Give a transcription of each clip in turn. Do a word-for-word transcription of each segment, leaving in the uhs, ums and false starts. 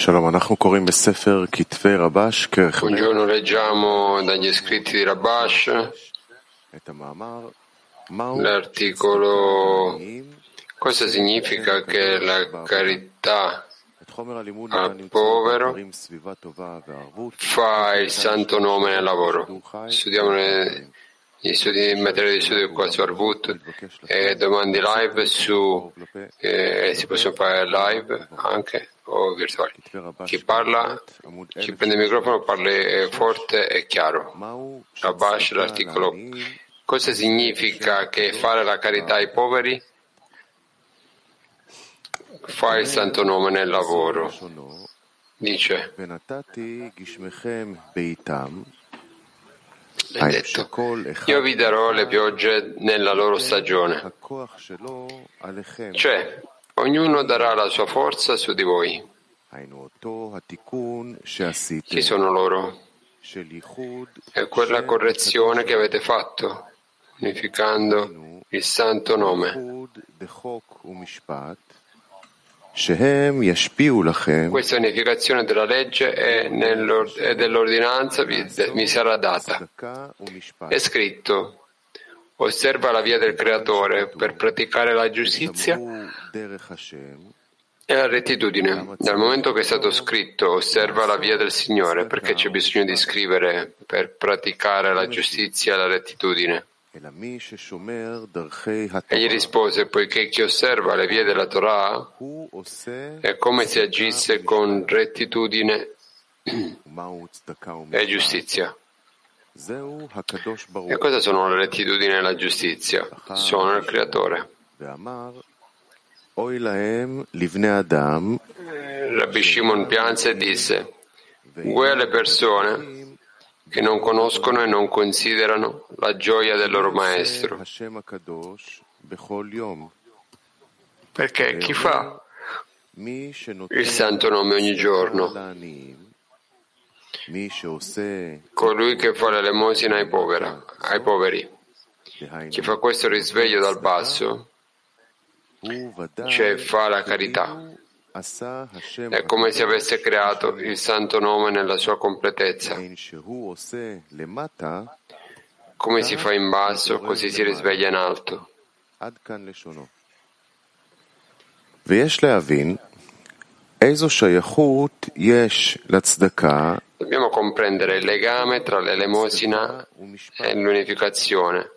Buongiorno, leggiamo dagli scritti di Rabash l'articolo cosa significa che la carità al povero fa il santo nome nel lavoro. Studiamo le, gli studi in materia di studio qua su Arvut e domande live su eh, si possono fare live anche o virtuali. Chi parla, chi prende il microfono parli forte e chiaro. Rabash, l'articolo cosa significa che fare la carità ai poveri fa il santo nome nel lavoro? Dice, è detto, io vi darò le piogge nella loro stagione, cioè ognuno darà la sua forza su di voi. Chi sono loro? È quella correzione che avete fatto, unificando il santo nome. Questa unificazione della legge e dell'ordinanza vi, vi sarà data. È scritto: osserva la via del Creatore per praticare la giustizia e la rettitudine. Dal momento che è stato scritto osserva la via del Signore, perché c'è bisogno di scrivere per praticare la giustizia e la rettitudine? Egli rispose, poiché chi osserva le vie della Torah è come se agisse con rettitudine e giustizia. E cosa sono la rettitudine e la giustizia? Sono il Creatore. Rabbi Shimon pianse e disse, guai alle persone che non conoscono e non considerano la gioia del loro maestro. Perché chi fa il santo nome ogni giorno? Colui che fa l'elemosina ai, povera, ai poveri. Chi fa questo risveglio dal basso, cioè fa la carità. È come se avesse creato il santo nome nella sua completezza. Come si fa in basso, così si risveglia in alto. Dobbiamo comprendere il legame tra l'elemosina e l'unificazione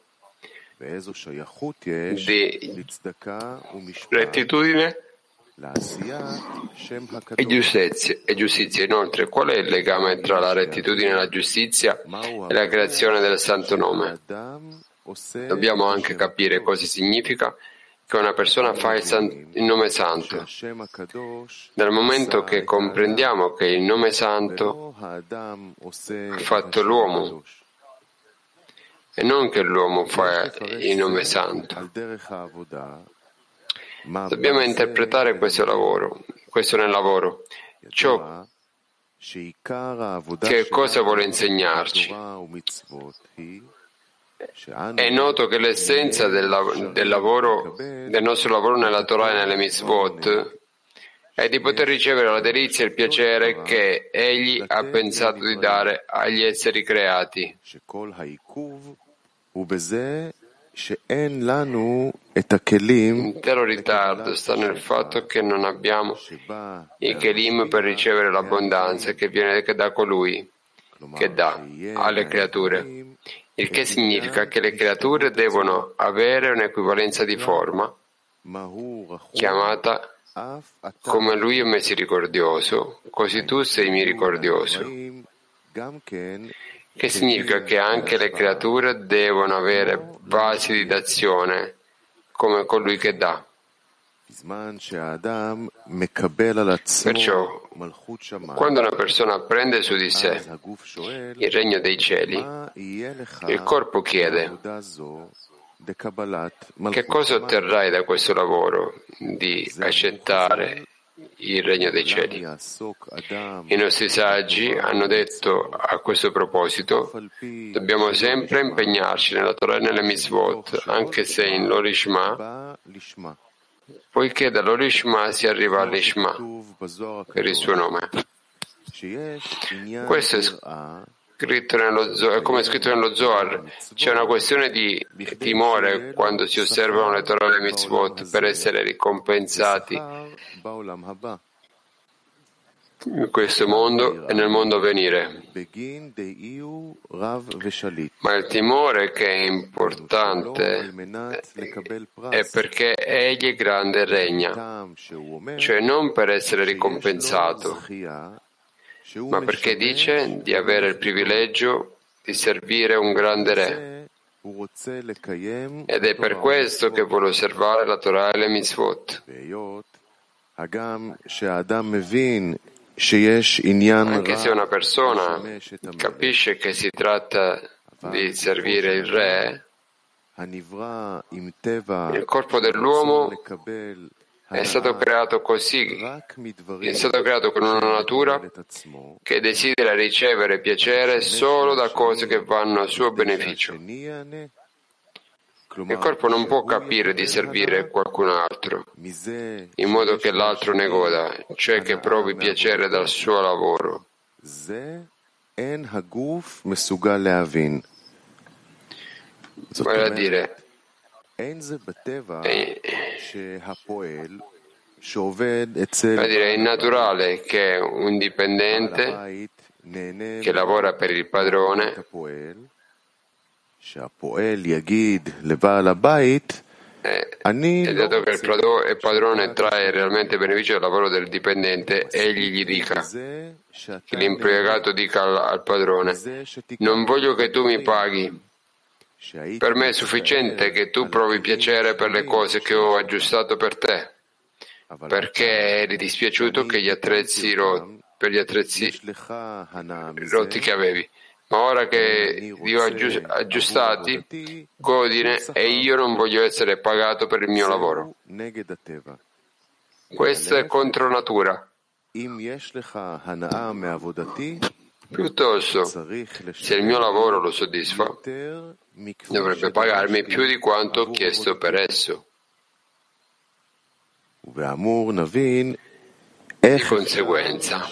di rettitudine e giustizia. e giustizia. Inoltre, qual è il legame tra la rettitudine e la giustizia e la creazione del santo nome? Dobbiamo anche capire cosa significa che una persona fa il, san- il nome santo. Dal momento che comprendiamo che il nome santo ha fatto l'uomo e non che l'uomo fa il nome santo. Dobbiamo interpretare questo lavoro, questo nel lavoro. Ciò che cosa vuole insegnarci? È noto che l'essenza del, lav- del lavoro, del nostro lavoro nella Torah e nelle mitzvot è di poter ricevere la delizia e il piacere che Egli ha pensato di dare agli esseri creati. L'intero ritardo sta nel fatto che non abbiamo i kelim per ricevere l'abbondanza che viene da colui che dà alle creature, il che significa che le creature devono avere un'equivalenza di forma chiamata come lui è misericordioso, così tu sei misericordioso. Che significa che anche le creature devono avere basi di dazione come colui che dà. Perciò, quando una persona prende su di sé il regno dei cieli, il corpo chiede: che cosa otterrai da questo lavoro di accettare il regno dei cieli? I nostri saggi hanno detto a questo proposito: dobbiamo sempre impegnarci nella Torah e nelle mitzvot, anche se in Lorishma poiché dall'Orishma si arriva all'Ishma per il suo nome. Questo è scritto nello Zohar, come è scritto nello Zohar. C'è una questione di timore quando si osservano le Torah e le Mitzvot per essere ricompensati in questo mondo e nel mondo a venire. Ma il timore che è importante è perché egli è grande e regna, cioè non per essere ricompensato, ma perché dice di avere il privilegio di servire un grande re. Ed è per questo che vuole osservare la Torah e le Mitzvot. Anche se una persona capisce che si tratta di servire il re, il corpo dell'uomo è stato creato così, è stato creato con una natura che desidera ricevere piacere solo da cose che vanno a suo beneficio. Il corpo non può capire di servire qualcun altro, in modo che l'altro ne goda, cioè che provi piacere dal suo lavoro. Vale a dire, è, vale a dire, è innaturale che un dipendente che lavora per il padrone Eh, e dato che il padrone trae realmente beneficio dal lavoro del dipendente, egli gli dica, che l'impiegato dica al, al padrone: non voglio che tu mi paghi, per me è sufficiente che tu provi piacere per le cose che ho aggiustato per te, perché eri dispiaciuto che gli attrezzi ro- per gli attrezzi rotti che avevi. Ma ora che li ho aggiustati, godine, e io non voglio essere pagato per il mio lavoro. Questo è contro natura. Piuttosto, se il mio lavoro lo soddisfa, dovrebbe pagarmi più di quanto ho chiesto per esso. Di conseguenza,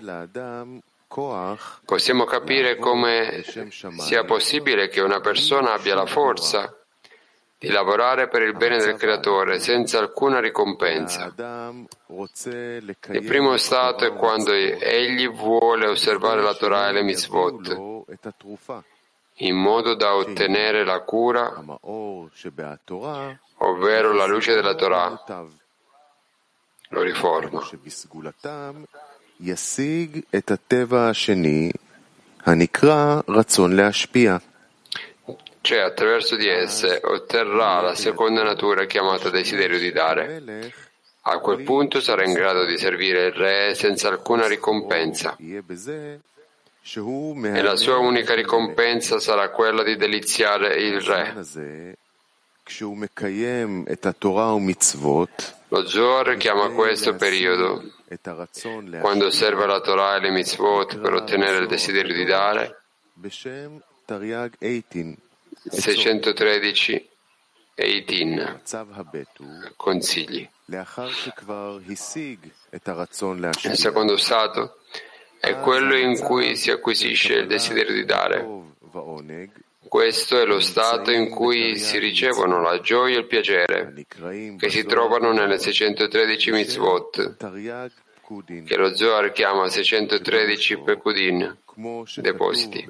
possiamo capire come sia possibile che una persona abbia la forza di lavorare per il bene del Creatore senza alcuna ricompensa. Il primo stato è quando egli vuole osservare la Torah e le Mitzvot in modo da ottenere la cura, ovvero la luce della Torah. Lo riforma. Cioè, attraverso di esse otterrà la seconda natura chiamata desiderio di dare. A quel punto sarà in grado di servire il re senza alcuna ricompensa. E la sua unica ricompensa sarà quella di deliziare il re. Lo Zohar chiama questo periodo, quando osserva la Torah e le Mitzvot per ottenere il desiderio di dare, seicentotredici Eitin, consigli. Il secondo stato è quello in cui si acquisisce il desiderio di dare. Questo è lo stato in cui si ricevono la gioia e il piacere, che si trovano nelle seicentotredici mitzvot, che lo Zohar chiama seicentotredici Pekudin, depositi.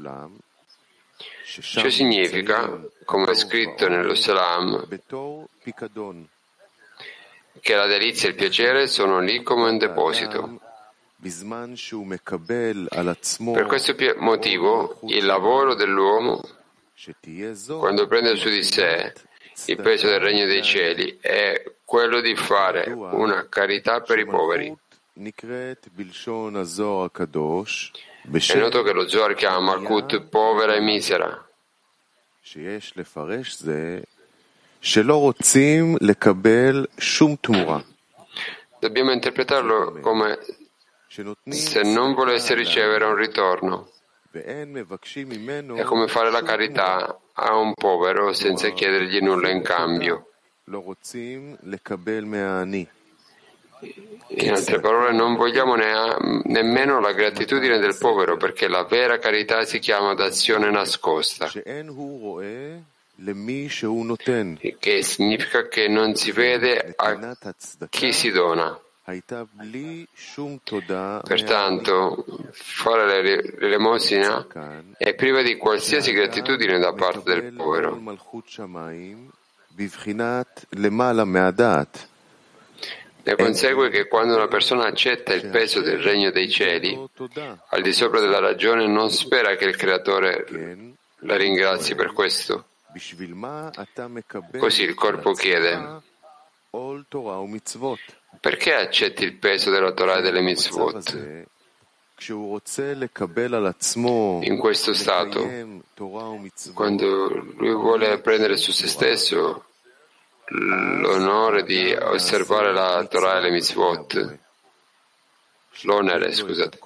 Ciò significa, come è scritto nello Salam, che la delizia e il piacere sono lì come un deposito. Per questo motivo, il lavoro dell'uomo, quando prende su di sé il peso del regno dei cieli, è quello di fare una carità per i poveri. È noto che lo Zohar chiama Malkut povera e misera. Dobbiamo interpretarlo come se non volesse ricevere un ritorno. È come fare la carità a un povero senza chiedergli nulla in cambio. In altre parole, non vogliamo ne- nemmeno la gratitudine del povero, perché la vera carità si chiama d'azione nascosta, che significa che non si vede a chi si dona. Pertanto, fare l'elemosina è priva di qualsiasi gratitudine da parte del povero. Ne consegue che quando una persona accetta il peso del regno dei cieli, al di sopra della ragione, non spera che il Creatore la ringrazi per questo. Così il corpo chiede: perché accetti il peso della Torah e delle mitzvot? In questo stato, quando lui vuole prendere su se stesso l'onore di osservare la Torah e le mitzvot, l'onere, scusate,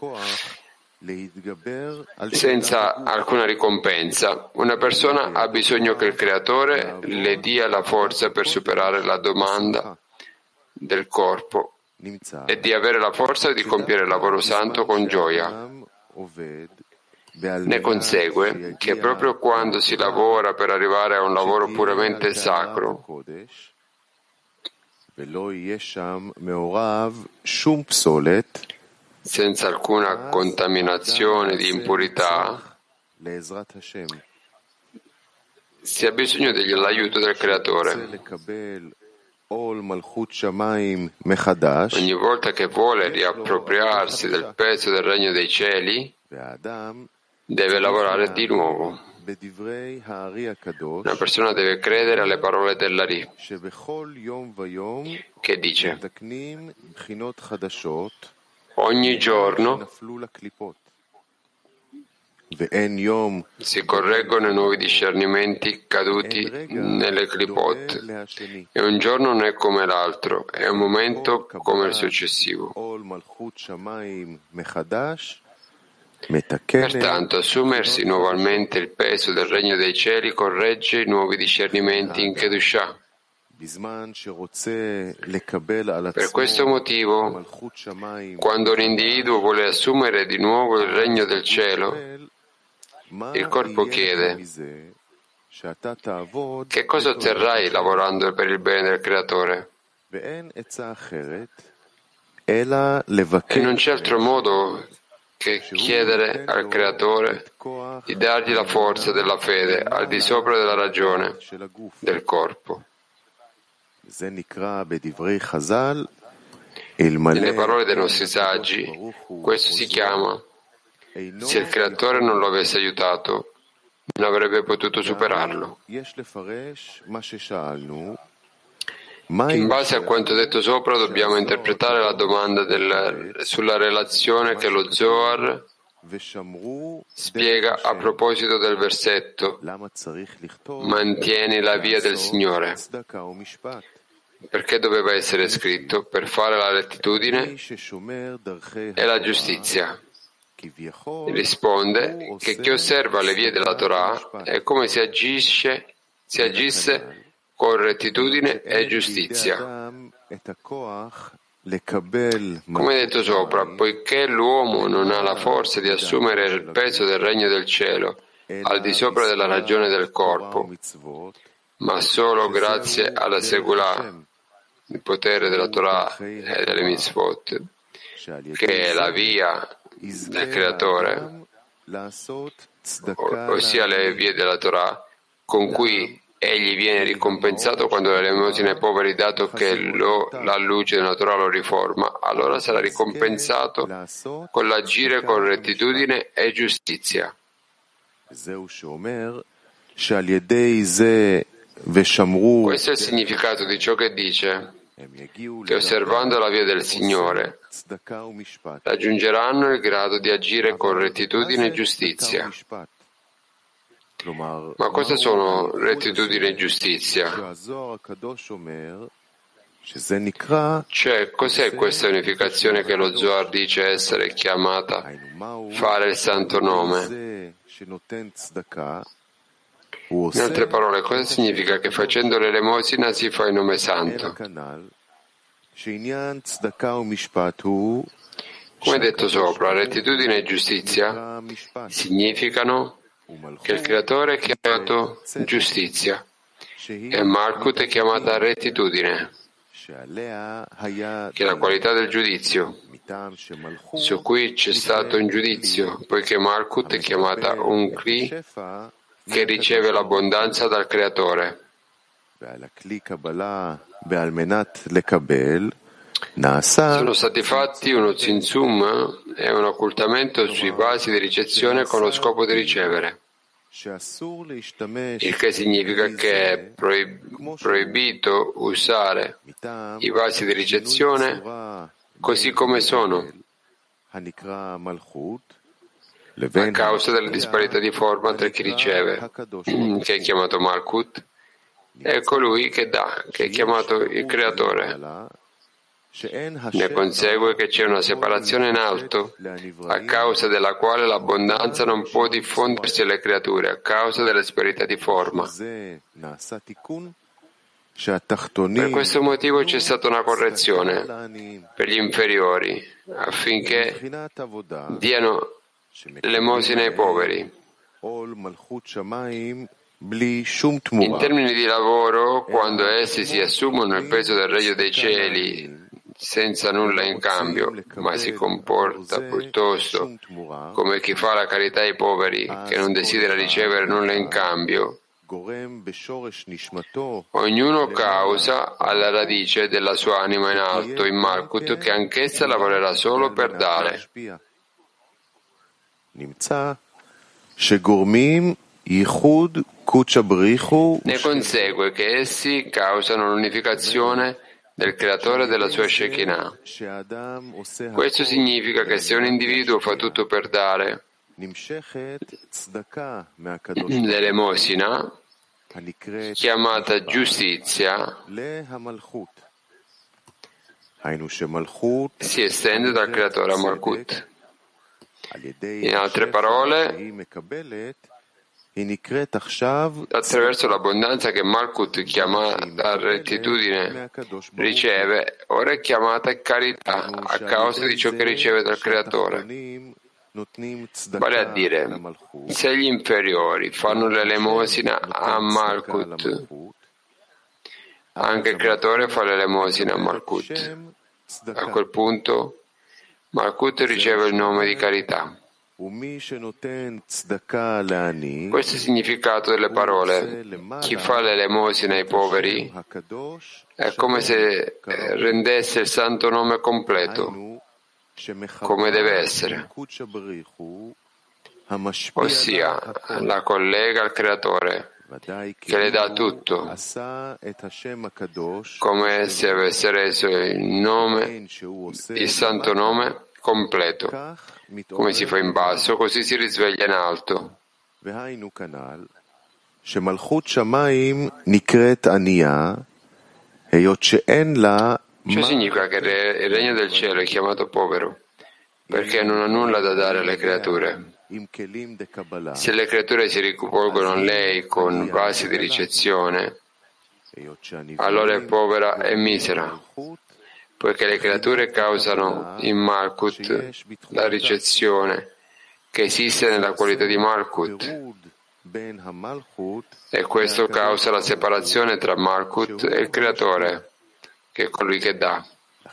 senza alcuna ricompensa, una persona ha bisogno che il Creatore le dia la forza per superare la domanda del corpo e di avere la forza di compiere il lavoro santo con gioia. Ne consegue che proprio quando si lavora per arrivare a un lavoro puramente sacro, senza alcuna contaminazione di impurità, si ha bisogno dell'aiuto del Creatore. Ogni volta che vuole riappropriarsi del peso del regno dei cieli, deve lavorare di nuovo. Una persona deve credere alle parole dell'Ari, che dice: ogni giorno si correggono i nuovi discernimenti caduti nelle clipot, e un giorno non è come l'altro, è un momento come il successivo. Pertanto, assumersi nuovamente il peso del regno dei cieli corregge i nuovi discernimenti in Kedushah. Per questo motivo, quando un individuo vuole assumere di nuovo il regno del cielo, il corpo chiede: che cosa otterrai lavorando per il bene del Creatore? E non c'è altro modo che chiedere al Creatore di dargli la forza della fede al di sopra della ragione del corpo. Nelle parole dei nostri saggi, questo si chiama: se il Creatore non lo avesse aiutato, non avrebbe potuto superarlo. In base a quanto detto sopra, dobbiamo interpretare la domanda del, sulla relazione che lo Zohar spiega a proposito del versetto: mantieni la via del Signore. Perché doveva essere scritto? Per fare la rettitudine e la giustizia. Risponde che chi osserva le vie della Torah è come se agisce, si agisse con rettitudine e giustizia. Come detto sopra, poiché l'uomo non ha la forza di assumere il peso del regno del cielo al di sopra della ragione del corpo, ma solo grazie alla Segulà, il potere della Torah e delle mitzvot, che è la via del Creatore, ossia le vie della Torah, con cui egli viene ricompensato quando l'elemosina ai poveri, dato che lo, la luce della Torah lo riforma, allora sarà ricompensato con l'agire con rettitudine e giustizia. Questo è il significato di ciò che dice che osservando la via del Signore raggiungeranno il grado di agire con rettitudine e giustizia. Ma cosa sono rettitudine e giustizia? Cioè, cos'è questa unificazione che lo Zohar dice essere chiamata fare il santo nome? In altre parole, cosa significa che facendo l'elemosina si fa il nome santo? Come detto sopra, rettitudine e giustizia significano che il Creatore è chiamato giustizia e Malkut è chiamata rettitudine, che è la qualità del giudizio, su cui c'è stato un giudizio, poiché Malkut è chiamata un Kli che riceve l'abbondanza dal Creatore. Sono stati fatti uno zinzum e un occultamento sui vasi di ricezione con lo scopo di ricevere, il che significa che è proib- proibito usare i vasi di ricezione così come sono, a causa della disparità di forma tra chi riceve, che è chiamato Malkut, e colui che dà, che è chiamato il Creatore. Ne consegue che c'è una separazione in alto, a causa della quale l'abbondanza non può diffondersi alle creature, a causa della disparità di forma. Per questo motivo c'è stata una correzione per gli inferiori, affinché diano l'elemosina ai poveri. In termini di lavoro, quando essi si assumono il peso del regno dei cieli senza nulla in cambio, ma si comporta piuttosto come chi fa la carità ai poveri, che non desidera ricevere nulla in cambio, ognuno causa alla radice della sua anima in alto, in Malkut, che anch'essa lavorerà solo per dare. Ne consegue che essi causano l'unificazione del creatore della sua Shekinah. Questo significa che se un individuo fa tutto per dare l'elemosina, chiamata giustizia, si estende dal creatore a Malkut. In altre parole, attraverso l'abbondanza che Malkut, chiamata rettitudine, riceve, ora è chiamata carità a causa di ciò che riceve dal Creatore. Vale a dire, se gli inferiori fanno l'elemosina a Malkut, anche il Creatore fa l'elemosina a Malkut. A quel punto Malkut riceve il nome di carità. Questo è il significato delle parole. Chi fa l'elemosina ai poveri è come se rendesse il santo nome completo, come deve essere, ossia la collega al Creatore, che le dà tutto, come se avesse reso il nome, il santo nome completo. Come si fa in basso, così si risveglia in alto. Ciò significa che il regno del cielo è chiamato povero, perché non ha nulla da dare alle creature. Se le creature si rivolgono a lei con vasi di ricezione, allora è povera e misera, poiché le creature causano in Malkut la ricezione che esiste nella qualità di Malkut, e questo causa la separazione tra Malkut e il Creatore, che è colui che dà.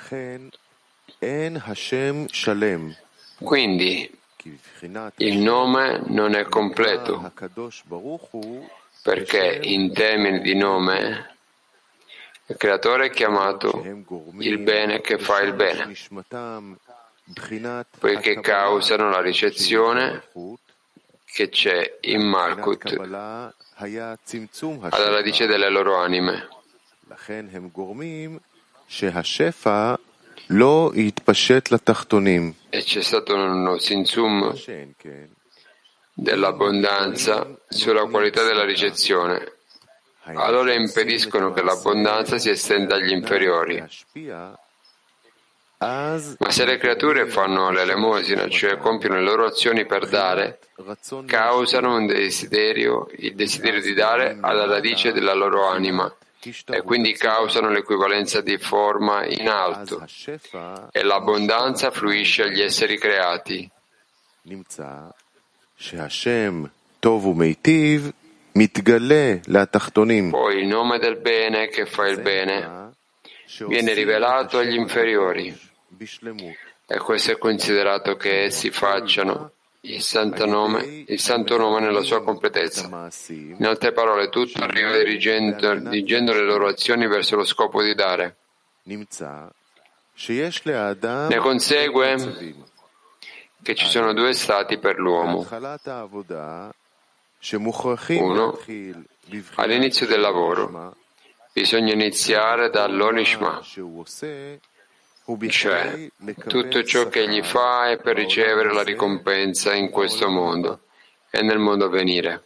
Quindi il nome non è completo, perché in termini di nome il Creatore è chiamato il bene che fa il bene, poiché causano la ricezione che c'è in Malkut alla radice delle loro anime. E c'è stato uno zinzum dell'abbondanza sulla qualità della ricezione. Allora impediscono che l'abbondanza si estenda agli inferiori. Ma se le creature fanno l'elemosina, cioè compiono le loro azioni per dare, causano un desiderio, il desiderio di dare alla radice della loro anima, e quindi causano l'equivalenza di forma in alto, e l'abbondanza fluisce agli esseri creati. Poi il nome del bene che fa il bene viene rivelato agli inferiori, e questo è considerato che essi facciano il santo nome, il santo nome nella sua completezza. In altre parole, tutto arriva dirigendo, dirigendo le loro azioni verso lo scopo di dare. Ne consegue che ci sono due stati per l'uomo. Uno, all'inizio del lavoro bisogna iniziare dall'onishma, cioè tutto ciò che egli fa è per ricevere la ricompensa in questo mondo e nel mondo a venire.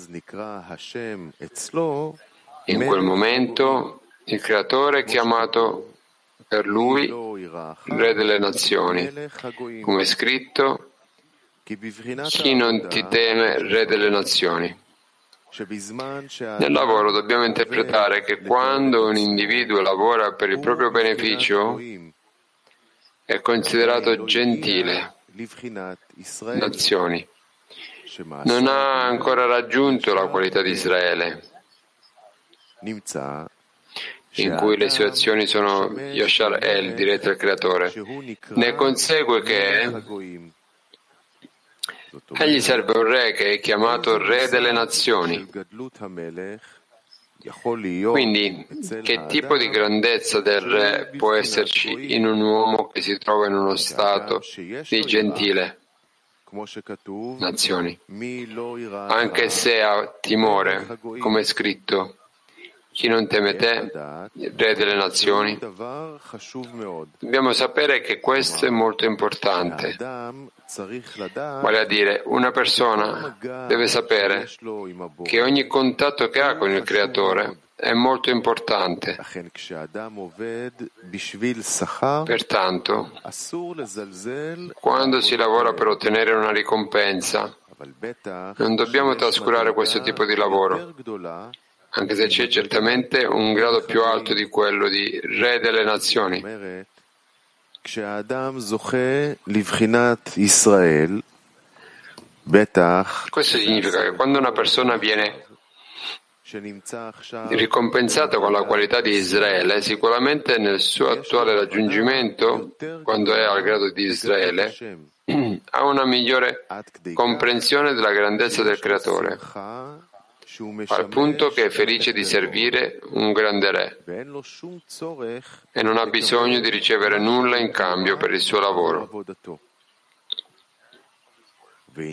In quel momento il Creatore è chiamato per lui Re delle Nazioni, come è scritto: chi non ti teme, Re delle Nazioni. Nel lavoro dobbiamo interpretare che quando un individuo lavora per il proprio beneficio è considerato gentile, nazioni. Non ha ancora raggiunto la qualità di Israele, in cui le sue azioni sono Yashar El, dirette al Creatore. Ne consegue che egli serve un re che è chiamato Re delle Nazioni. Quindi, che tipo di grandezza del re può esserci in un uomo che si trova in uno stato di gentile, nazioni, anche se ha timore, come è scritto: chi non teme te, Re delle Nazioni? Dobbiamo sapere che questo è molto importante. Vale a dire, una persona deve sapere che ogni contatto che ha con il Creatore è molto importante. Pertanto, quando si lavora per ottenere una ricompensa, non dobbiamo trascurare questo tipo di lavoro, anche se c'è certamente un grado più alto di quello di Re delle Nazioni. Questo significa che quando una persona viene ricompensata con la qualità di Israele, sicuramente nel suo attuale raggiungimento, quando è al grado di Israele, ha una migliore comprensione della grandezza del Creatore, al punto che è felice di servire un grande re e non ha bisogno di ricevere nulla in cambio per il suo lavoro. Per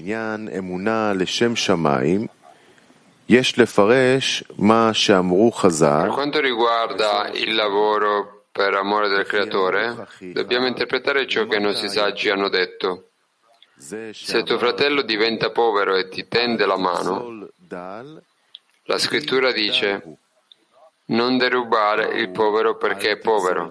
quanto riguarda il lavoro per amore del Creatore, dobbiamo interpretare ciò che i nostri saggi hanno detto. Se tuo fratello diventa povero e ti tende la mano, la scrittura dice: non derubare il povero perché è povero.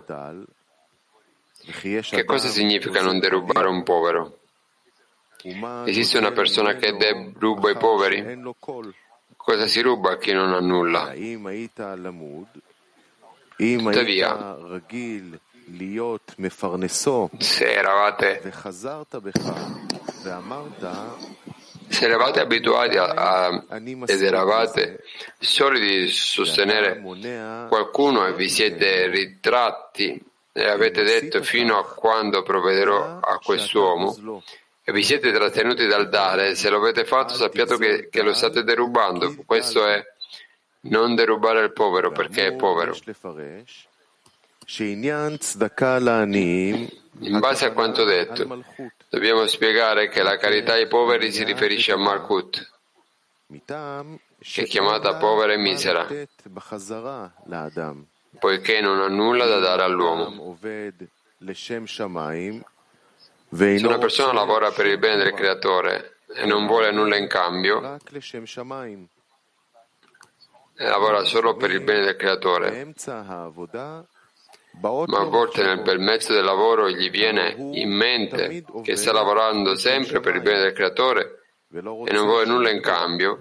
Che cosa significa non derubare un povero? Esiste una persona che deruba i poveri? Cosa si ruba a chi non ha nulla? Tuttavia, se eravate Se eravate abituati a, a, ed eravate soliti di sostenere qualcuno e vi siete ritratti e avete detto: fino a quando provvederò a quest'uomo, e vi siete trattenuti dal dare, se lo avete fatto sappiate che, che lo state derubando. Questo è non derubare il povero perché è povero. In base a quanto detto, dobbiamo spiegare che la carità ai poveri si riferisce a Malkut, che è chiamata povera e misera, poiché non ha nulla da dare all'uomo. Se una persona lavora per il bene del Creatore e non vuole nulla in cambio, e lavora solo per il bene del Creatore, ma a volte nel bel mezzo del lavoro gli viene in mente che sta lavorando sempre per il bene del Creatore e non vuole nulla in cambio,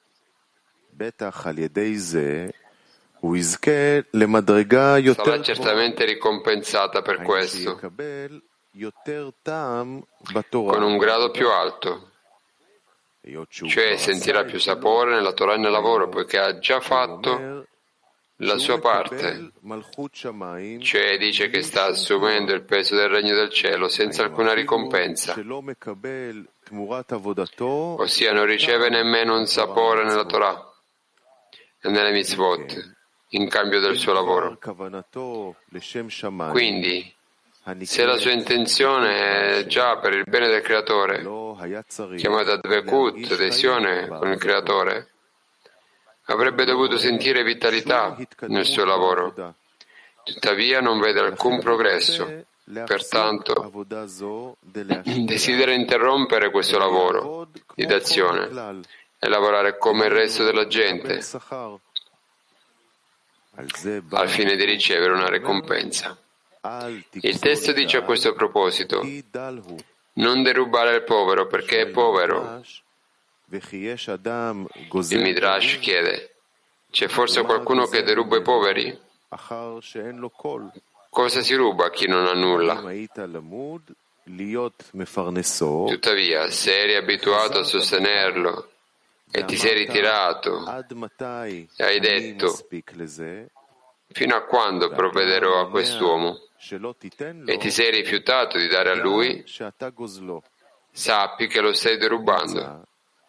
sarà certamente ricompensata per questo, con un grado più alto, cioè sentirà più sapore nella Torah e nel lavoro, poiché ha già fatto la sua parte, cioè dice che sta assumendo il peso del regno del cielo senza alcuna ricompensa, ossia non riceve nemmeno un sapore nella Torah e nelle mitzvot in cambio del suo lavoro. Quindi, se la sua intenzione è già per il bene del Creatore, chiamata Dvekut, adesione con il Creatore, avrebbe dovuto sentire vitalità nel suo lavoro. Tuttavia non vede alcun progresso, pertanto desidera interrompere questo lavoro di d'azione e lavorare come il resto della gente, al fine di ricevere una ricompensa. Il testo dice a questo proposito: non derubare il povero perché è povero. Il Midrash chiede: c'è forse qualcuno che deruba i poveri? Cosa si ruba a chi non ha nulla? Tuttavia, se eri abituato a sostenerlo e ti sei ritirato e hai detto: fino a quando provvederò a quest'uomo? E ti sei rifiutato di dare a lui, sappi che lo stai derubando.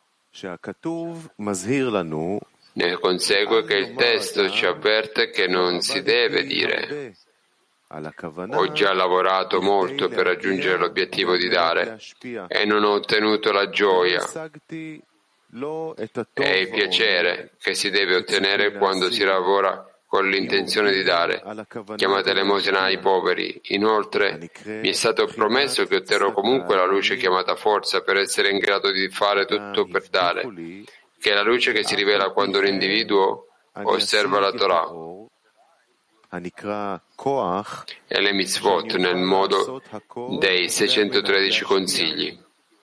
Ne consegue che il testo ci avverte che non si deve dire: ho già lavorato molto per raggiungere l'obiettivo di dare e non ho ottenuto la gioia e il piacere che si deve ottenere quando si lavora con l'intenzione di dare, chiamata elemosina ai poveri. Inoltre, mi è stato promesso che otterrò comunque la luce chiamata forza per essere in grado di fare tutto per dare, che è la luce che si rivela quando un individuo osserva la Torah e le mitzvot nel modo dei seicentotredici consigli.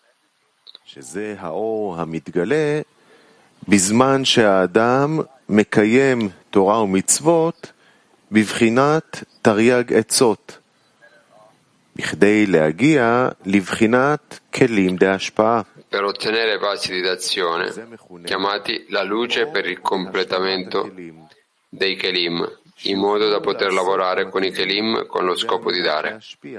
בזמן שהאדם מקיים תורה ומצוות בבחינת תרי"ג עצות, בכדי להגיע לבחינת כלים דהשפעה. Per ottenere passi di d'azione, chiamati la luce per il completamento dei kelim, in modo da poter lavorare con i kelim con lo scopo di dare.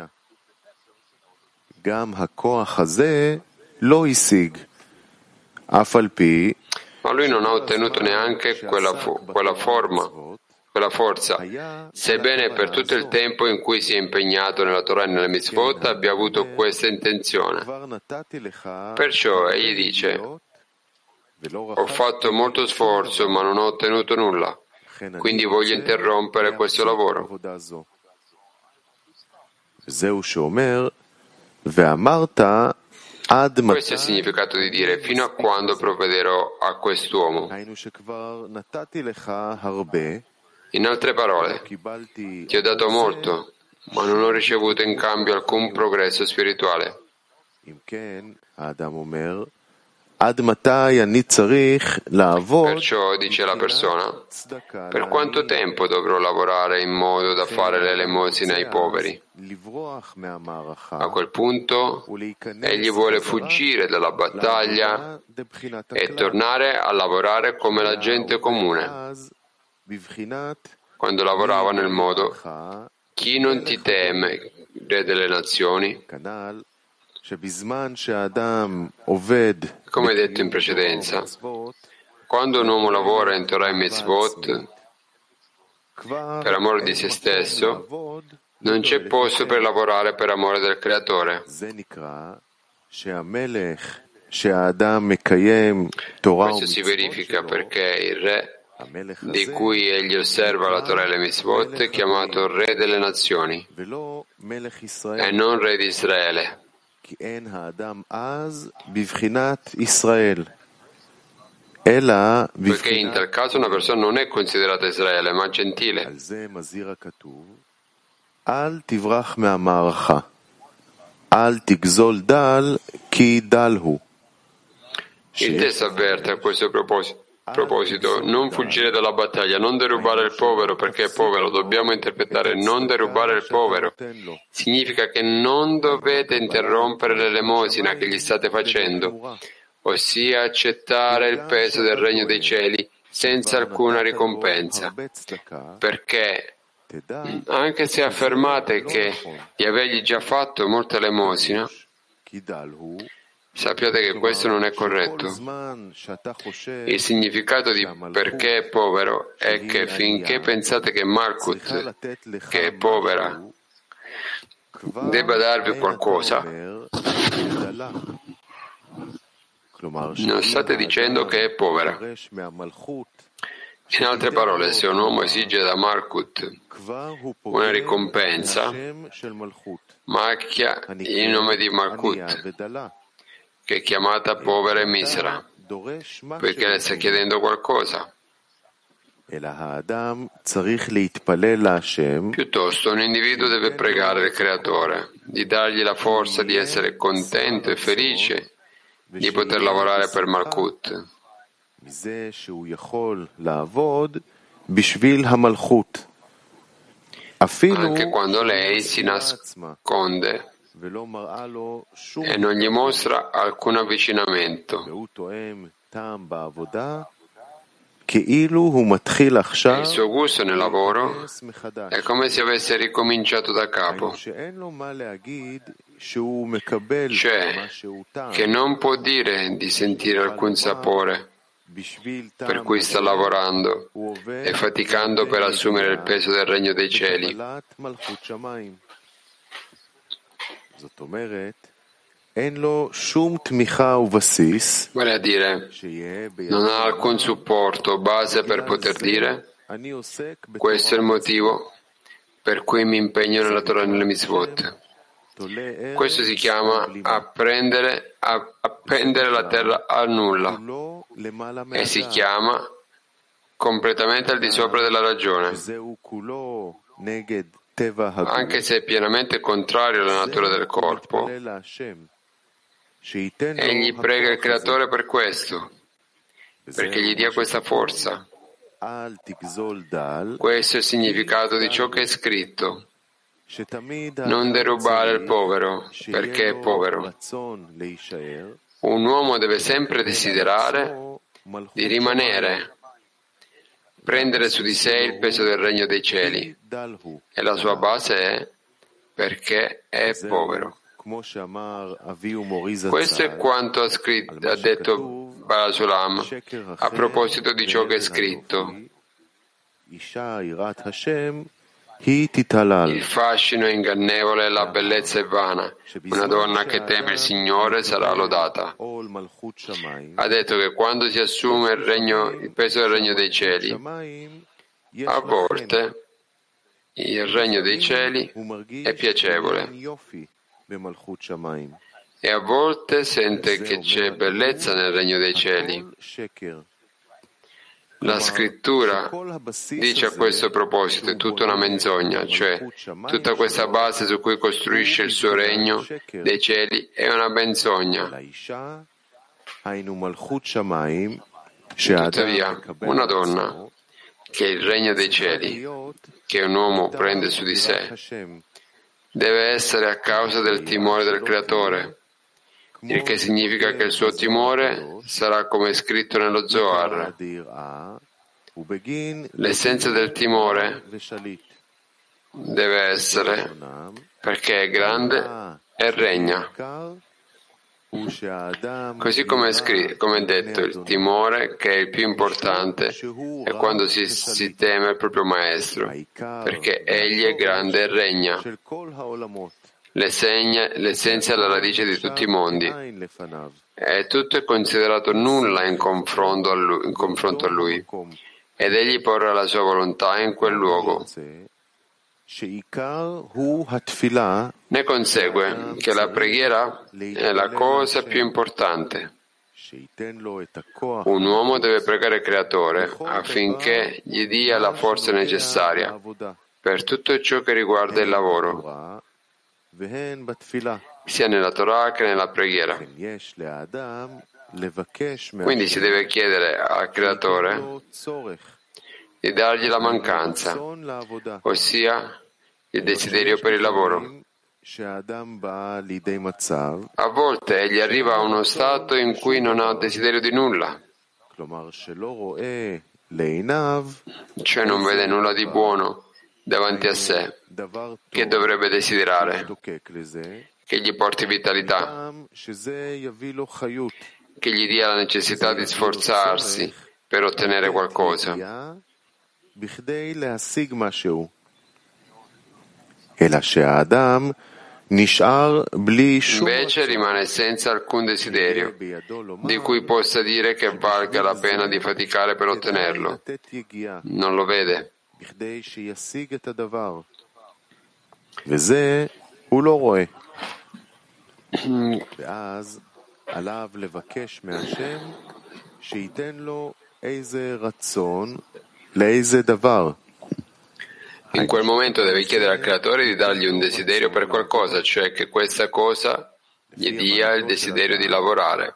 גם הכוח הזה לא השיג, אף על פי Ma lui non ha ottenuto neanche quella, fo- quella forma, quella forza, sebbene per tutto il tempo in cui si è impegnato nella Torah e nelle mitzvot abbia avuto questa intenzione. Perciò egli dice: ho fatto molto sforzo ma non ho ottenuto nulla, quindi voglio interrompere questo lavoro. Questo è il significato di dire: fino a quando provvederò a quest'uomo. In altre parole, ti ho dato molto, ma non ho ricevuto in cambio alcun progresso spirituale. Perciò dice la persona: per quanto tempo dovrò lavorare in modo da fare l'elemosina ai poveri? A quel punto egli vuole fuggire dalla battaglia e tornare a lavorare come la gente comune, quando lavorava nel modo: chi non ti teme, re delle nazioni? Come detto in precedenza, quando un uomo lavora in Torah e Mitzvot per amore di se stesso, non c'è posto per lavorare per amore del Creatore. Questo si verifica perché il re di cui egli osserva la Torah e le Mitzvot è chiamato re delle nazioni e non re di Israele. Poiché in tal caso una persona non è considerata Israele, ma gentile. אל תברח מהמערכה. אל תגזול דל, כי דל הוא. Il testo avverte a questo proposito, proposito, non fuggire dalla battaglia, non derubare il povero perché è povero. Dobbiamo interpretare non derubare il povero. Significa che non dovete interrompere l'elemosina che gli state facendo, ossia accettare il peso del regno dei cieli senza alcuna ricompensa, perché anche se affermate che di avergli già fatto molta elemosina, sappiate che questo non è corretto. Il significato di perché è povero è che finché pensate che Malkut, che è povera, debba darvi qualcosa, non state dicendo che è povera. In altre parole, se un uomo esige da Malkut una ricompensa, macchia il nome di Malkut, che è chiamata povera e misera, perché le sta chiedendo qualcosa. Piuttosto un individuo deve pregare il Creatore di dargli la forza di essere contento e felice di poter lavorare per Malkut, anche quando lei si nasconde e non gli mostra alcun avvicinamento. Il suo gusto nel lavoro è come se avesse ricominciato da capo, cioè che non può dire di sentire alcun sapore, per cui sta lavorando e faticando per assumere il peso del regno dei cieli. Vale a dire, non ha alcun supporto o base per poter dire: questo è il motivo per cui mi impegno nella Torah e nelle mitzvot. Questo si chiama apprendere, appendere la terra al nulla e si chiama completamente al di sopra della ragione, anche se è pienamente contrario alla natura del corpo. Egli prega il Creatore per questo, perché gli dia questa forza. Questo è il significato di ciò che è scritto: non derubare il povero perché è povero. Un uomo deve sempre desiderare di rimanere, prendere su di sé il peso del regno dei cieli, e la sua base è perché è povero. Questo è quanto ha, scritto, ha detto Barasulam a proposito di ciò che è scritto: il fascino è ingannevole e la bellezza è vana. Una donna che teme il Signore sarà lodata. Ha detto che quando si assume il, regno, il peso del regno dei cieli, a volte il regno dei cieli è piacevole e a volte sente che c'è bellezza nel regno dei cieli. La scrittura dice a questo proposito: è tutta una menzogna, cioè tutta questa base su cui costruisce il suo regno dei cieli è una menzogna. Tuttavia, una donna che è il regno dei cieli, che un uomo prende su di sé, deve essere a causa del timore del Creatore, il che significa che il suo timore sarà come è scritto nello Zohar. L'essenza del timore deve essere perché è grande e regna. Così come è, scritto, come è detto, il timore, che è il più importante, è quando si, si teme il proprio maestro, perché egli è grande e regna. L'essenza è la radice di tutti i mondi, e tutto è considerato nulla in confronto a lui, in confronto a lui, ed egli porrà la sua volontà in quel luogo. Ne consegue che la preghiera è la cosa più importante. Un uomo deve pregare il Creatore affinché gli dia la forza necessaria per tutto ciò che riguarda il lavoro, sia nella Torah che nella preghiera. Quindi si deve chiedere al Creatore di dargli la mancanza, ossia il desiderio per il lavoro. A volte egli arriva a uno stato in cui non ha desiderio di nulla, cioè non vede nulla di buono davanti a sé, che dovrebbe desiderare, che gli porti vitalità, che gli dia la necessità di sforzarsi per ottenere qualcosa. Invece rimane senza alcun desiderio di cui possa dire che valga la pena di faticare per ottenerlo. Non lo vede. In quel momento deve chiedere al Creatore di dargli un desiderio per qualcosa, cioè che questa cosa gli dia il desiderio di lavorare.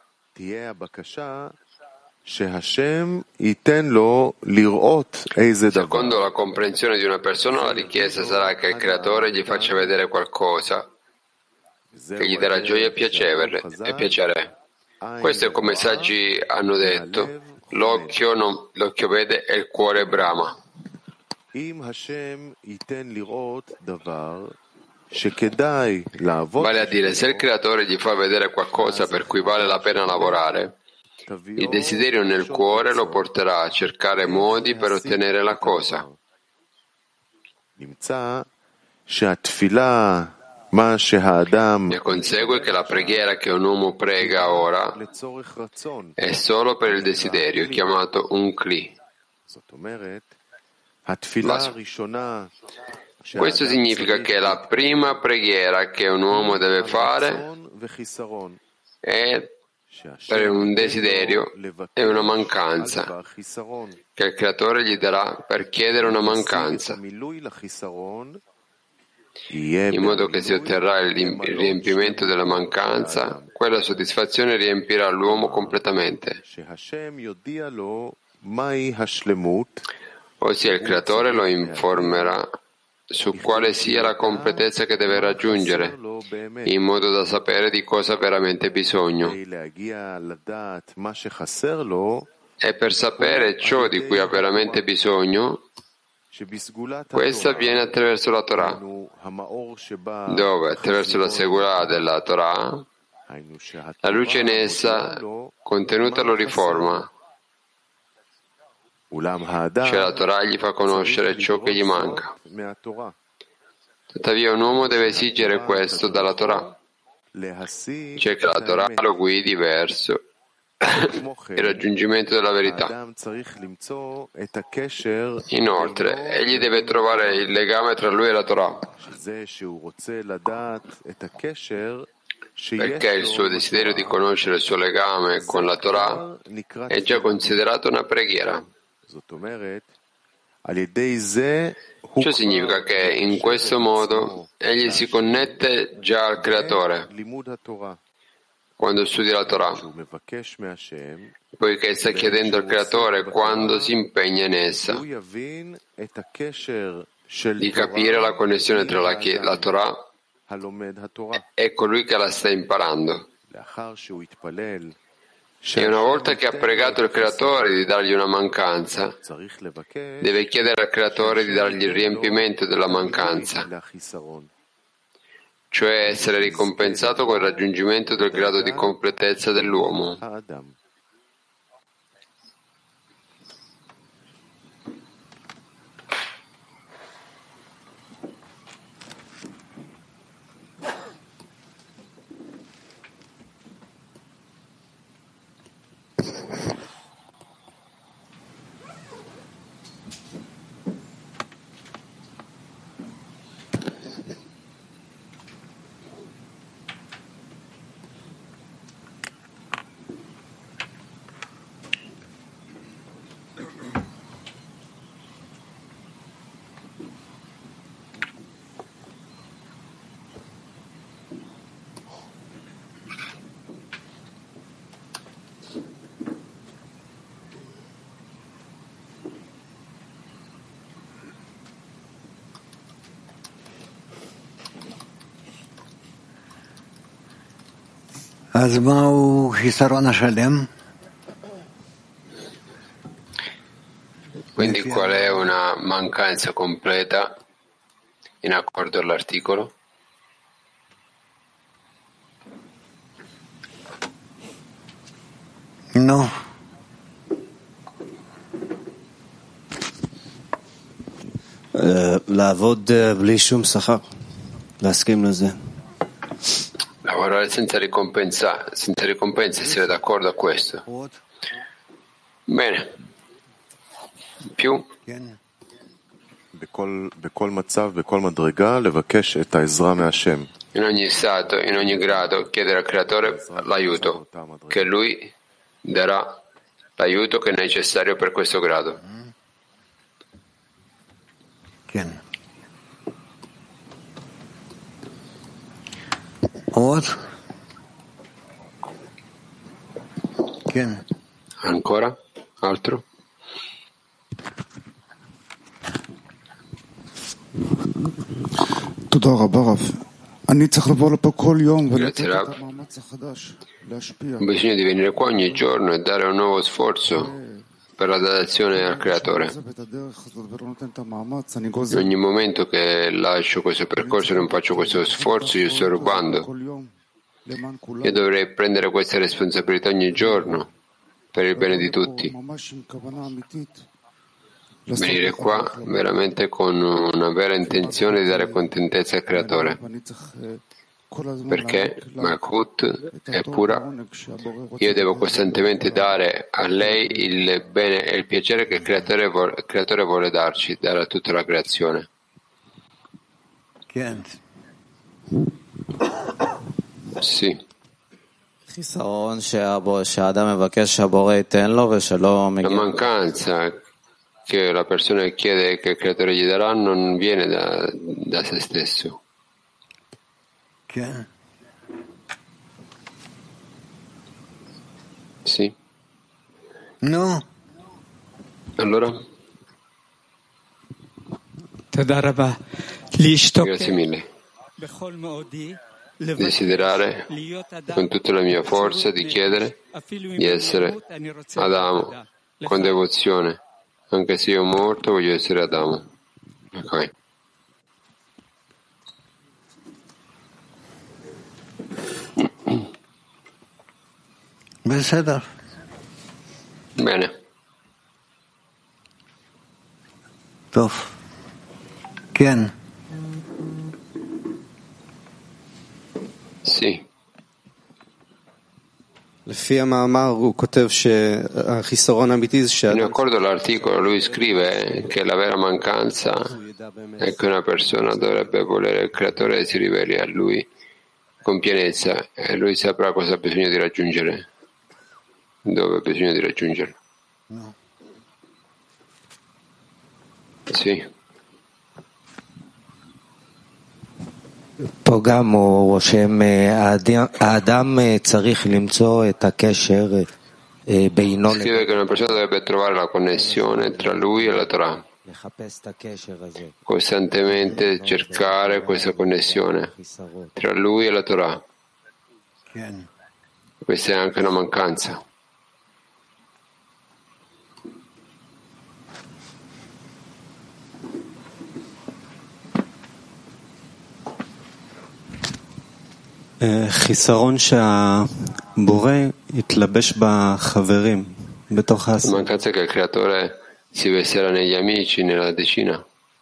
Secondo la comprensione di una persona, la richiesta sarà che il Creatore gli faccia vedere qualcosa che gli darà gioia e piacere. E piacere. Questo è come i saggi hanno detto: l'occhio, non, l'occhio vede e il cuore brama. Vale a dire, se il Creatore gli fa vedere qualcosa per cui vale la pena lavorare, il desiderio nel cuore lo porterà a cercare modi per ottenere la cosa. Ne consegue che la preghiera che un uomo prega ora è solo per il desiderio, chiamato un kli. Questo significa che la prima preghiera che un uomo deve fare è per un desiderio e una mancanza che il Creatore gli darà per chiedere una mancanza, in modo che si otterrà il riempimento della mancanza. Quella soddisfazione riempirà l'uomo completamente, ossia il Creatore lo informerà su quale sia la completezza che deve raggiungere, in modo da sapere di cosa ha veramente bisogno. E per sapere ciò di cui ha veramente bisogno, questo avviene attraverso la Torah, dove attraverso la Segulà della Torah, la luce in essa contenuta lo riforma, cioè la Torah gli fa conoscere ciò che gli manca. Tuttavia un uomo deve esigere questo dalla Torah, cioè che la Torah lo guidi verso il raggiungimento della verità. Inoltre, egli deve trovare il legame tra lui e la Torah, perché il suo desiderio di conoscere il suo legame con la Torah è già considerato una preghiera. Ciò significa che in questo modo egli si connette già al Creatore quando studia la Torah, poiché sta chiedendo al Creatore quando si impegna in essa, di capire la connessione tra la, la Torah e colui che la sta imparando. E una volta che ha pregato il Creatore di dargli una mancanza, deve chiedere al Creatore di dargli il riempimento della mancanza, cioè essere ricompensato con il raggiungimento del grado di completezza dell'uomo. Quindi qual è una mancanza completa in accordo all'articolo? No. לעבוד בלי שום שכר, להסכים לזה. Lavorare senza ricompensa, senza ricompensa, essere d'accordo a questo. Bene. Più? In ogni stato, in ogni grado, chiedere al Creatore l'aiuto, che Lui darà l'aiuto che è necessario per questo grado. Ancora? Altro? Grazie Rab. Ho bisogno di venire qua ogni giorno e dare un nuovo sforzo per la datazione al Creatore. In ogni momento che lascio questo percorso e non faccio questo sforzo, io sto rubando. Io dovrei prendere questa responsabilità ogni giorno per il bene di tutti. Venire qua veramente con una vera intenzione di dare contentezza al Creatore. Perché Malkut è pura, io devo costantemente dare a lei il bene e il piacere che il Creatore vuole, il Creatore vuole darci, dare a tutta la creazione. Sì. La mancanza che la persona chiede che il Creatore gli darà non viene da, da se stesso. Sì. No. Allora? Grazie mille. Desiderare con tutta la mia forza di chiedere di essere Adamo con devozione. Anche se io morto voglio essere Adamo. Ok. Bene. טוב. כן. Sì. לפי המאמר הוא כותב שהחיסרון האמיתי זה In accordo all'articolo lui scrive che la vera mancanza è che una persona dovrebbe volere il Creatore e si riveli a lui con pienezza e lui saprà cosa ha bisogno di raggiungere, dove ha bisogno di raggiungere. No. Sì. פה גם הוא רושם, האדם צריך למצוא את הקשר בינו. Scrive che una persona dovrebbe trovare la connessione tra lui e la Torah. Costantemente cercare questa connessione tra lui e la Torah. Questa è anche una mancanza. חיסרון שהבורא יתלבש בחברים בתוך העשייה. Mancanza che il Creatore si vestirà negli amici, nella decina.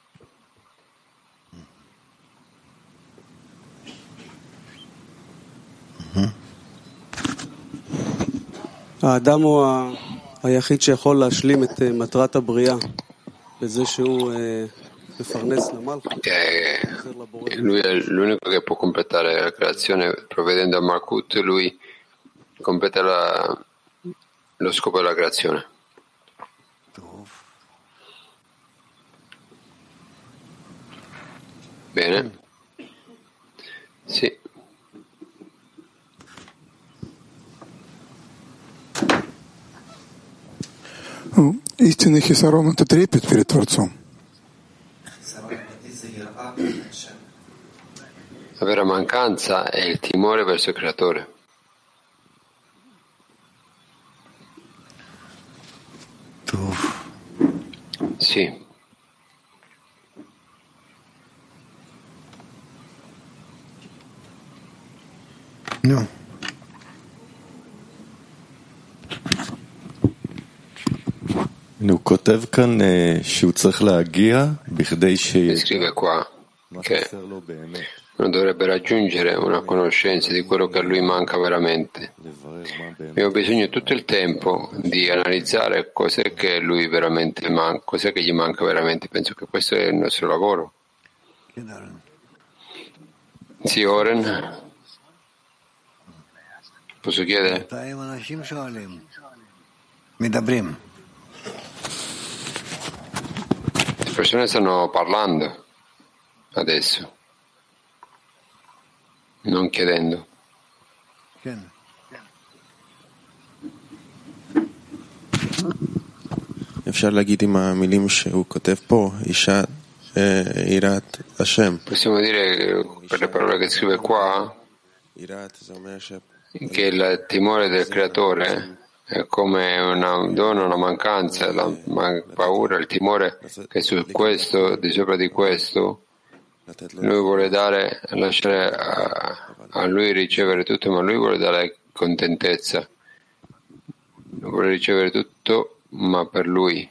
האדם הוא היחיד שיכול להשלים את מטרת הבריאה בזה שהוא מפרנס למלכות. Lui è l'unico che può completare la creazione provvedendo a Malkut, lui completa la, lo scopo della creazione. Bene. Sì. Истинный хисарон — это трепет перед Творцом. La vera mancanza è il timore verso il Creatore. Sì. No. הוא כותב כאן שהוא צריך להגיע בכדי Scrive qua che non dovrebbe raggiungere una conoscenza di quello che a lui manca veramente. Abbiamo bisogno tutto il tempo di analizzare cos'è che lui veramente manca, cos'è che gli manca veramente. Penso che questo è il nostro lavoro. Sì, Oren? Posso chiedere? Le persone stanno parlando adesso, non chiedendo. אפשר להגיד עם המילים שהוא כותב פה, אישה יראת השם. Possiamo dire per le parole che scrive qua che il timore del creatore è come una donna, una mancanza, la paura, il timore che su questo, di sopra di questo, lui vuole dare, lasciare a, a lui ricevere tutto, ma lui vuole dare contentezza, vuole ricevere tutto, ma per lui.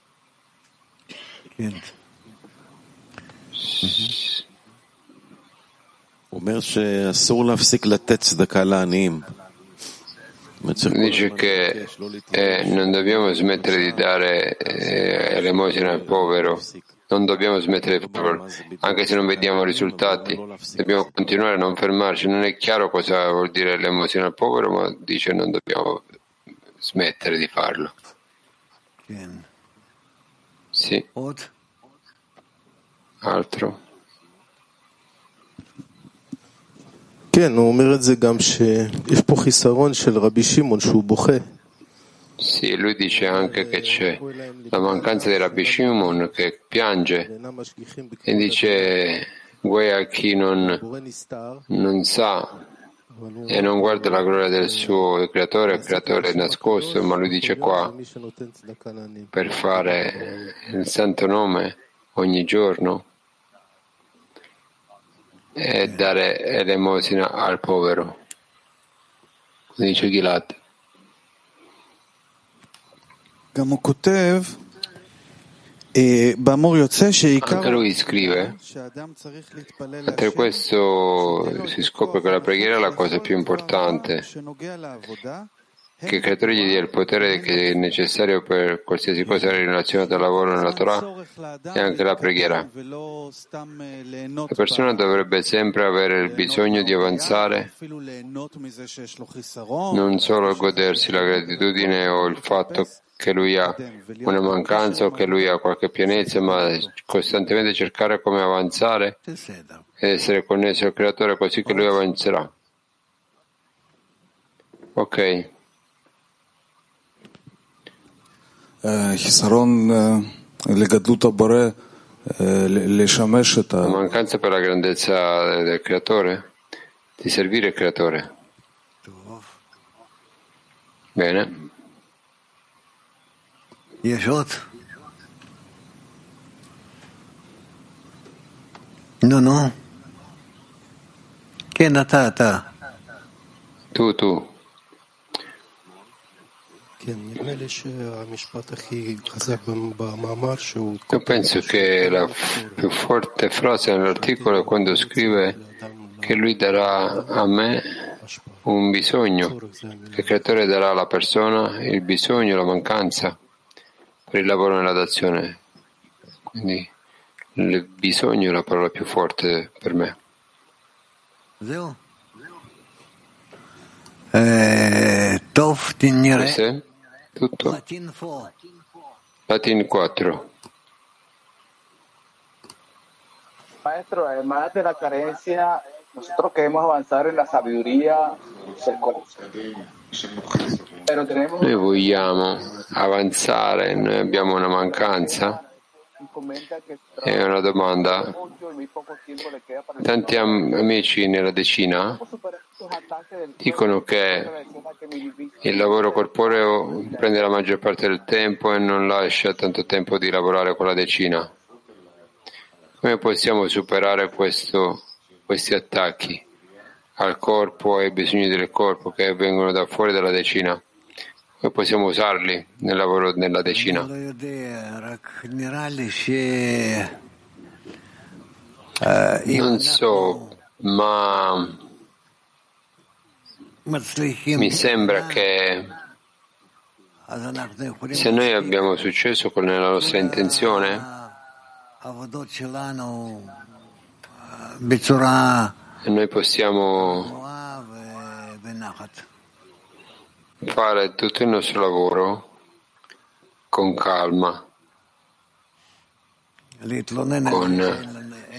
Dice che eh, non dobbiamo smettere di dare eh, elemosina al povero, non dobbiamo smettere di farlo, anche se non vediamo risultati, dobbiamo continuare a non fermarci. Non è chiaro cosa vuol dire l'elemosina al povero, ma dice non dobbiamo smettere di farlo. Sì. Altro? כן, הוא אומר את זה גם שיש פה חיסרון של רבי שמעון שהוא בוכה. Sì, lui dice anche che c'è la mancanza di Rabbi Shimon che piange e dice guai a chi non, non sa e non guarda la gloria del suo creatore, il creatore nascosto, ma lui dice qua per fare il santo nome ogni giorno e dare elemosina al povero, dice Gilad. Anche lui scrive, per questo si scopre che la preghiera è la cosa più importante, che il creatore gli dia il potere che è necessario per qualsiasi cosa relazionata al lavoro nella Torah e anche la preghiera. La persona dovrebbe sempre avere il bisogno di avanzare, non solo godersi la gratitudine o il fatto che lui ha una mancanza o che lui ha qualche pienezza, ma costantemente cercare come avanzare ed essere connesso al creatore così che lui avanzerà. Ok. La mancanza per la grandezza del creatore, di servire il creatore. Bene. No, no. Che natata? Tu, tu. Io penso che la più forte frase nell'articolo è quando scrive che lui darà a me un bisogno, che il creatore darà alla persona il bisogno, la mancanza per il lavoro nella dazione. Quindi il bisogno è la parola più forte per me. Eh, Questo è tutto. Latin quattro. Maestro, además de la carencia, nosotros queremos avanzar en la sabiduría del corazón. Noi vogliamo avanzare, noi abbiamo una mancanza È una domanda. Tanti am- amici nella decina dicono che il lavoro corporeo prende la maggior parte del tempo e non lascia tanto tempo di lavorare con la decina. Come possiamo superare questo, questi attacchi al corpo e ai bisogni del corpo che vengono da fuori dalla decina? Come possiamo usarli nel lavoro nella decina? Non so, ma mi sembra che se noi abbiamo successo con la nostra intenzione e noi possiamo fare tutto il nostro lavoro con calma, con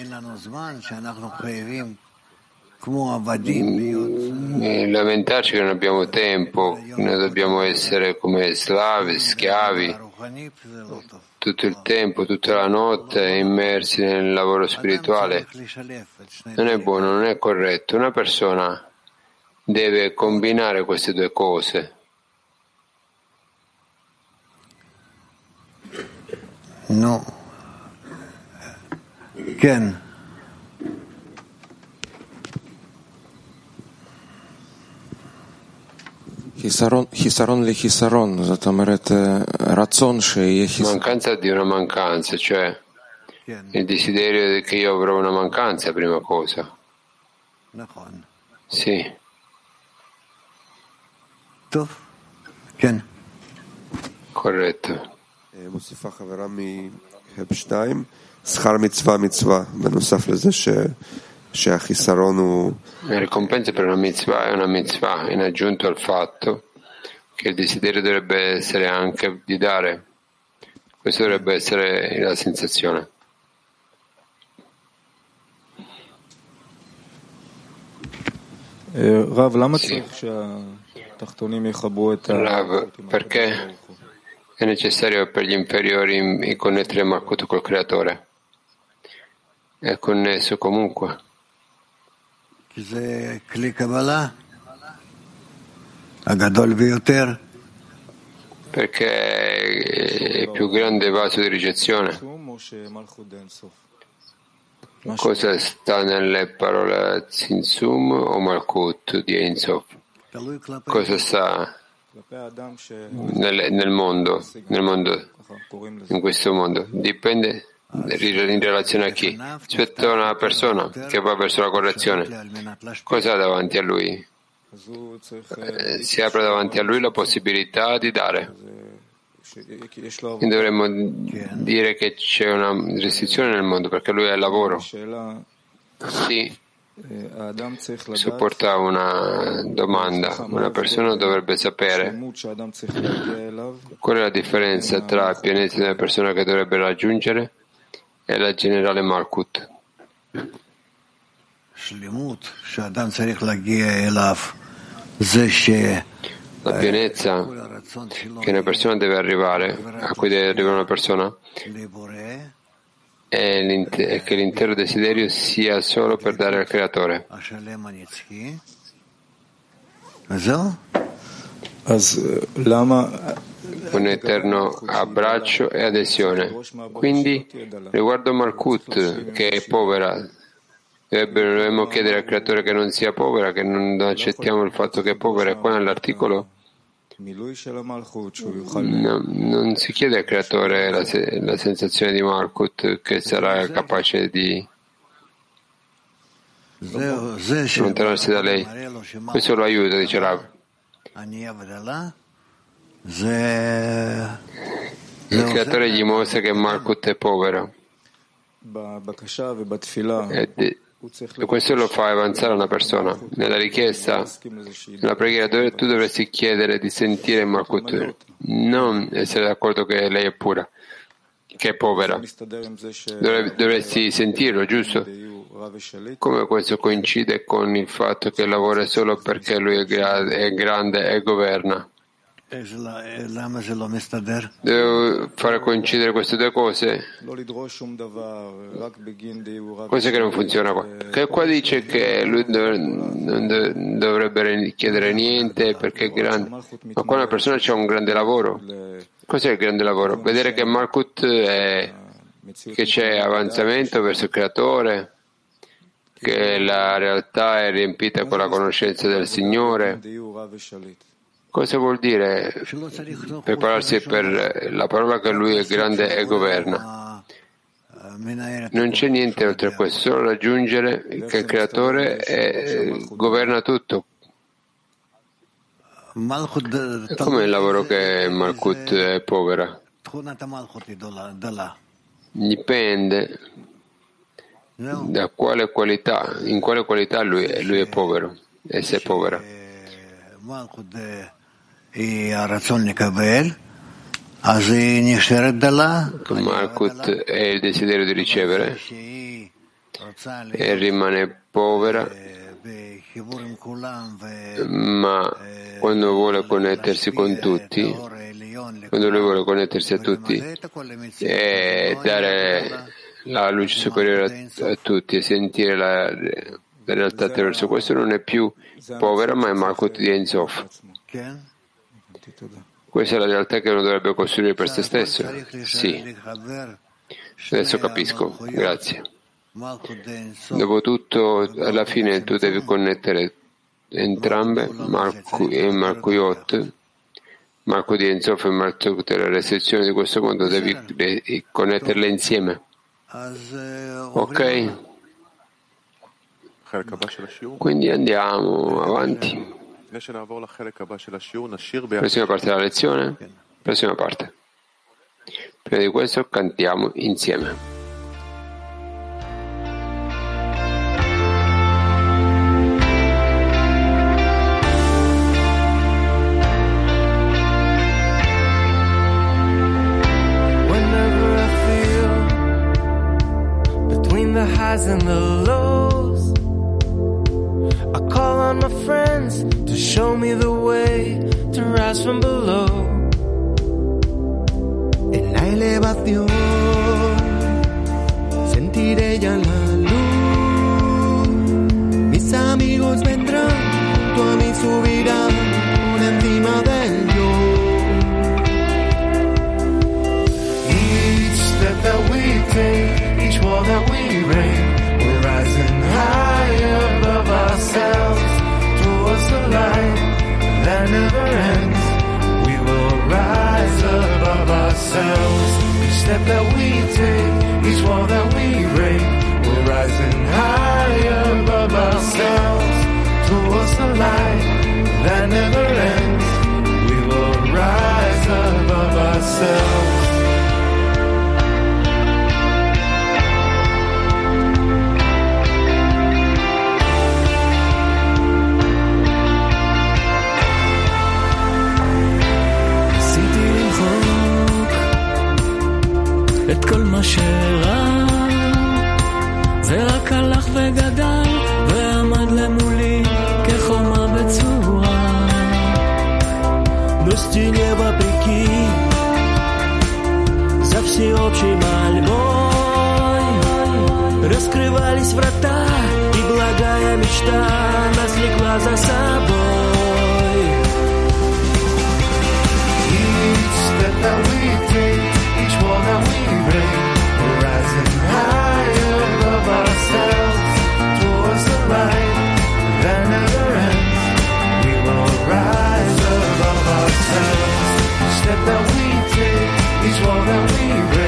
lamentarci che non abbiamo tempo, noi dobbiamo essere come slavi, schiavi, tutto il tempo, tutta la notte immersi nel lavoro spirituale. Non è buono, non è corretto. Una persona deve combinare queste due cose. No. Ken. Mancanza di una mancanza, cioè il desiderio che io avrò una mancanza, prima cosa. Sì. Corretto. La ricompensa per una mitzvah è una mitzvah, in aggiunto al fatto che il desiderio dovrebbe essere anche di dare. Questa dovrebbe essere la sensazione. Sì. Rav, perché è necessario per gli inferiori connettere Malkut col Creatore? È connesso comunque. Perché è il più grande vaso di ricezione. Cosa sta nelle parole Tzimtzum o Malkut di Ein Sof? Cosa sta nel, nel mondo, nel mondo, in questo mondo? Dipende in relazione a chi? Rispetto a una persona che va verso la correzione, cosa ha davanti a lui? Eh, si apre davanti a lui la possibilità di dare. Quindi dovremmo dire che c'è una restrizione nel mondo perché lui è il lavoro. Sì, supporta una domanda. Una persona dovrebbe sapere qual è la differenza tra il pianeta della persona che dovrebbe raggiungere e la generale Malkut. La pienezza che una persona deve arrivare, a cui deve arrivare una persona, è, è che l'intero desiderio sia solo per dare al Creatore. Un eterno abbraccio e adesione. Quindi, riguardo Malkut, che è povera, dovremmo chiedere al Creatore che non sia povera, che non accettiamo il fatto che è povera. E qua nell'articolo no, non si chiede al Creatore la, la sensazione di Malkut che sarà capace di allontanarsi da lei. Questo lo aiuta, dice Rav. Il Creatore gli mostra che Malkut è povero. E questo lo fa avanzare una persona. Nella richiesta, nella preghiera, tu dovresti chiedere di sentire Malkut, non essere d'accordo che lei è pura, che è povera. Dovresti sentirlo, giusto? Come questo coincide con il fatto che lavora solo perché lui è, gra- è grande e governa. Devo fare coincidere queste due cose? Cos'è che non funziona qua? Che qua dice che lui non dovrebbe chiedere niente perché è grande, ma qua una persona c'ha un grande lavoro. Cos'è il grande lavoro? Vedere che Malkut è, che c'è avanzamento verso il Creatore, che la realtà è riempita con la conoscenza del Signore. Cosa vuol dire prepararsi per la parola che lui è grande e governa? Non c'è niente oltre a questo, solo raggiungere che il Creatore è, governa tutto. E come il lavoro che Malkut è povera? Dipende da quale qualità, in quale qualità lui è, lui è povero, e se è povera. Malkut è il desiderio di ricevere e rimane povera, ma quando vuole connettersi con tutti, quando lui vuole connettersi a tutti e dare la luce superiore a, a tutti e sentire la, la realtà attraverso questo, non è più povera, ma è Malkut di Ein Sof. Questa è la realtà che uno dovrebbe costruire per se stesso? Sì. Adesso capisco. Grazie. Dopotutto, alla fine tu devi connettere entrambe, Malkut e Malkuyot, Malkut di Ein Sof e Malkut della restrizione di questo mondo, devi connetterle insieme. Ok? Quindi andiamo avanti. Prossima parte della lezione? Prossima parte. Prima di questo cantiamo insieme. The highs and the lows, I call on my friends to show me the way to rise from below. En la elevación sentiré ya la luz. Mis amigos vendrán, tú a mí subirán por encima del yo. Each step that we take, each wall that we break, we're rising higher above ourselves towards the light that never ends. We will rise above ourselves. Each step that we take, each wall that we break, we're rising higher above ourselves towards the light that never ends. We will rise above ourselves. את כל מה שרע זה רק הלך וגדל ועמד למולי כחומה בצורה. Достине вопреки за всеобщей мольбой раскрывались врата, и благая мечта нас влекла за собой. Each step that we take, each wall that we break, we're rising higher above ourselves towards the light that never ends. We will rise above ourselves. Each step that we take, each wall that we break,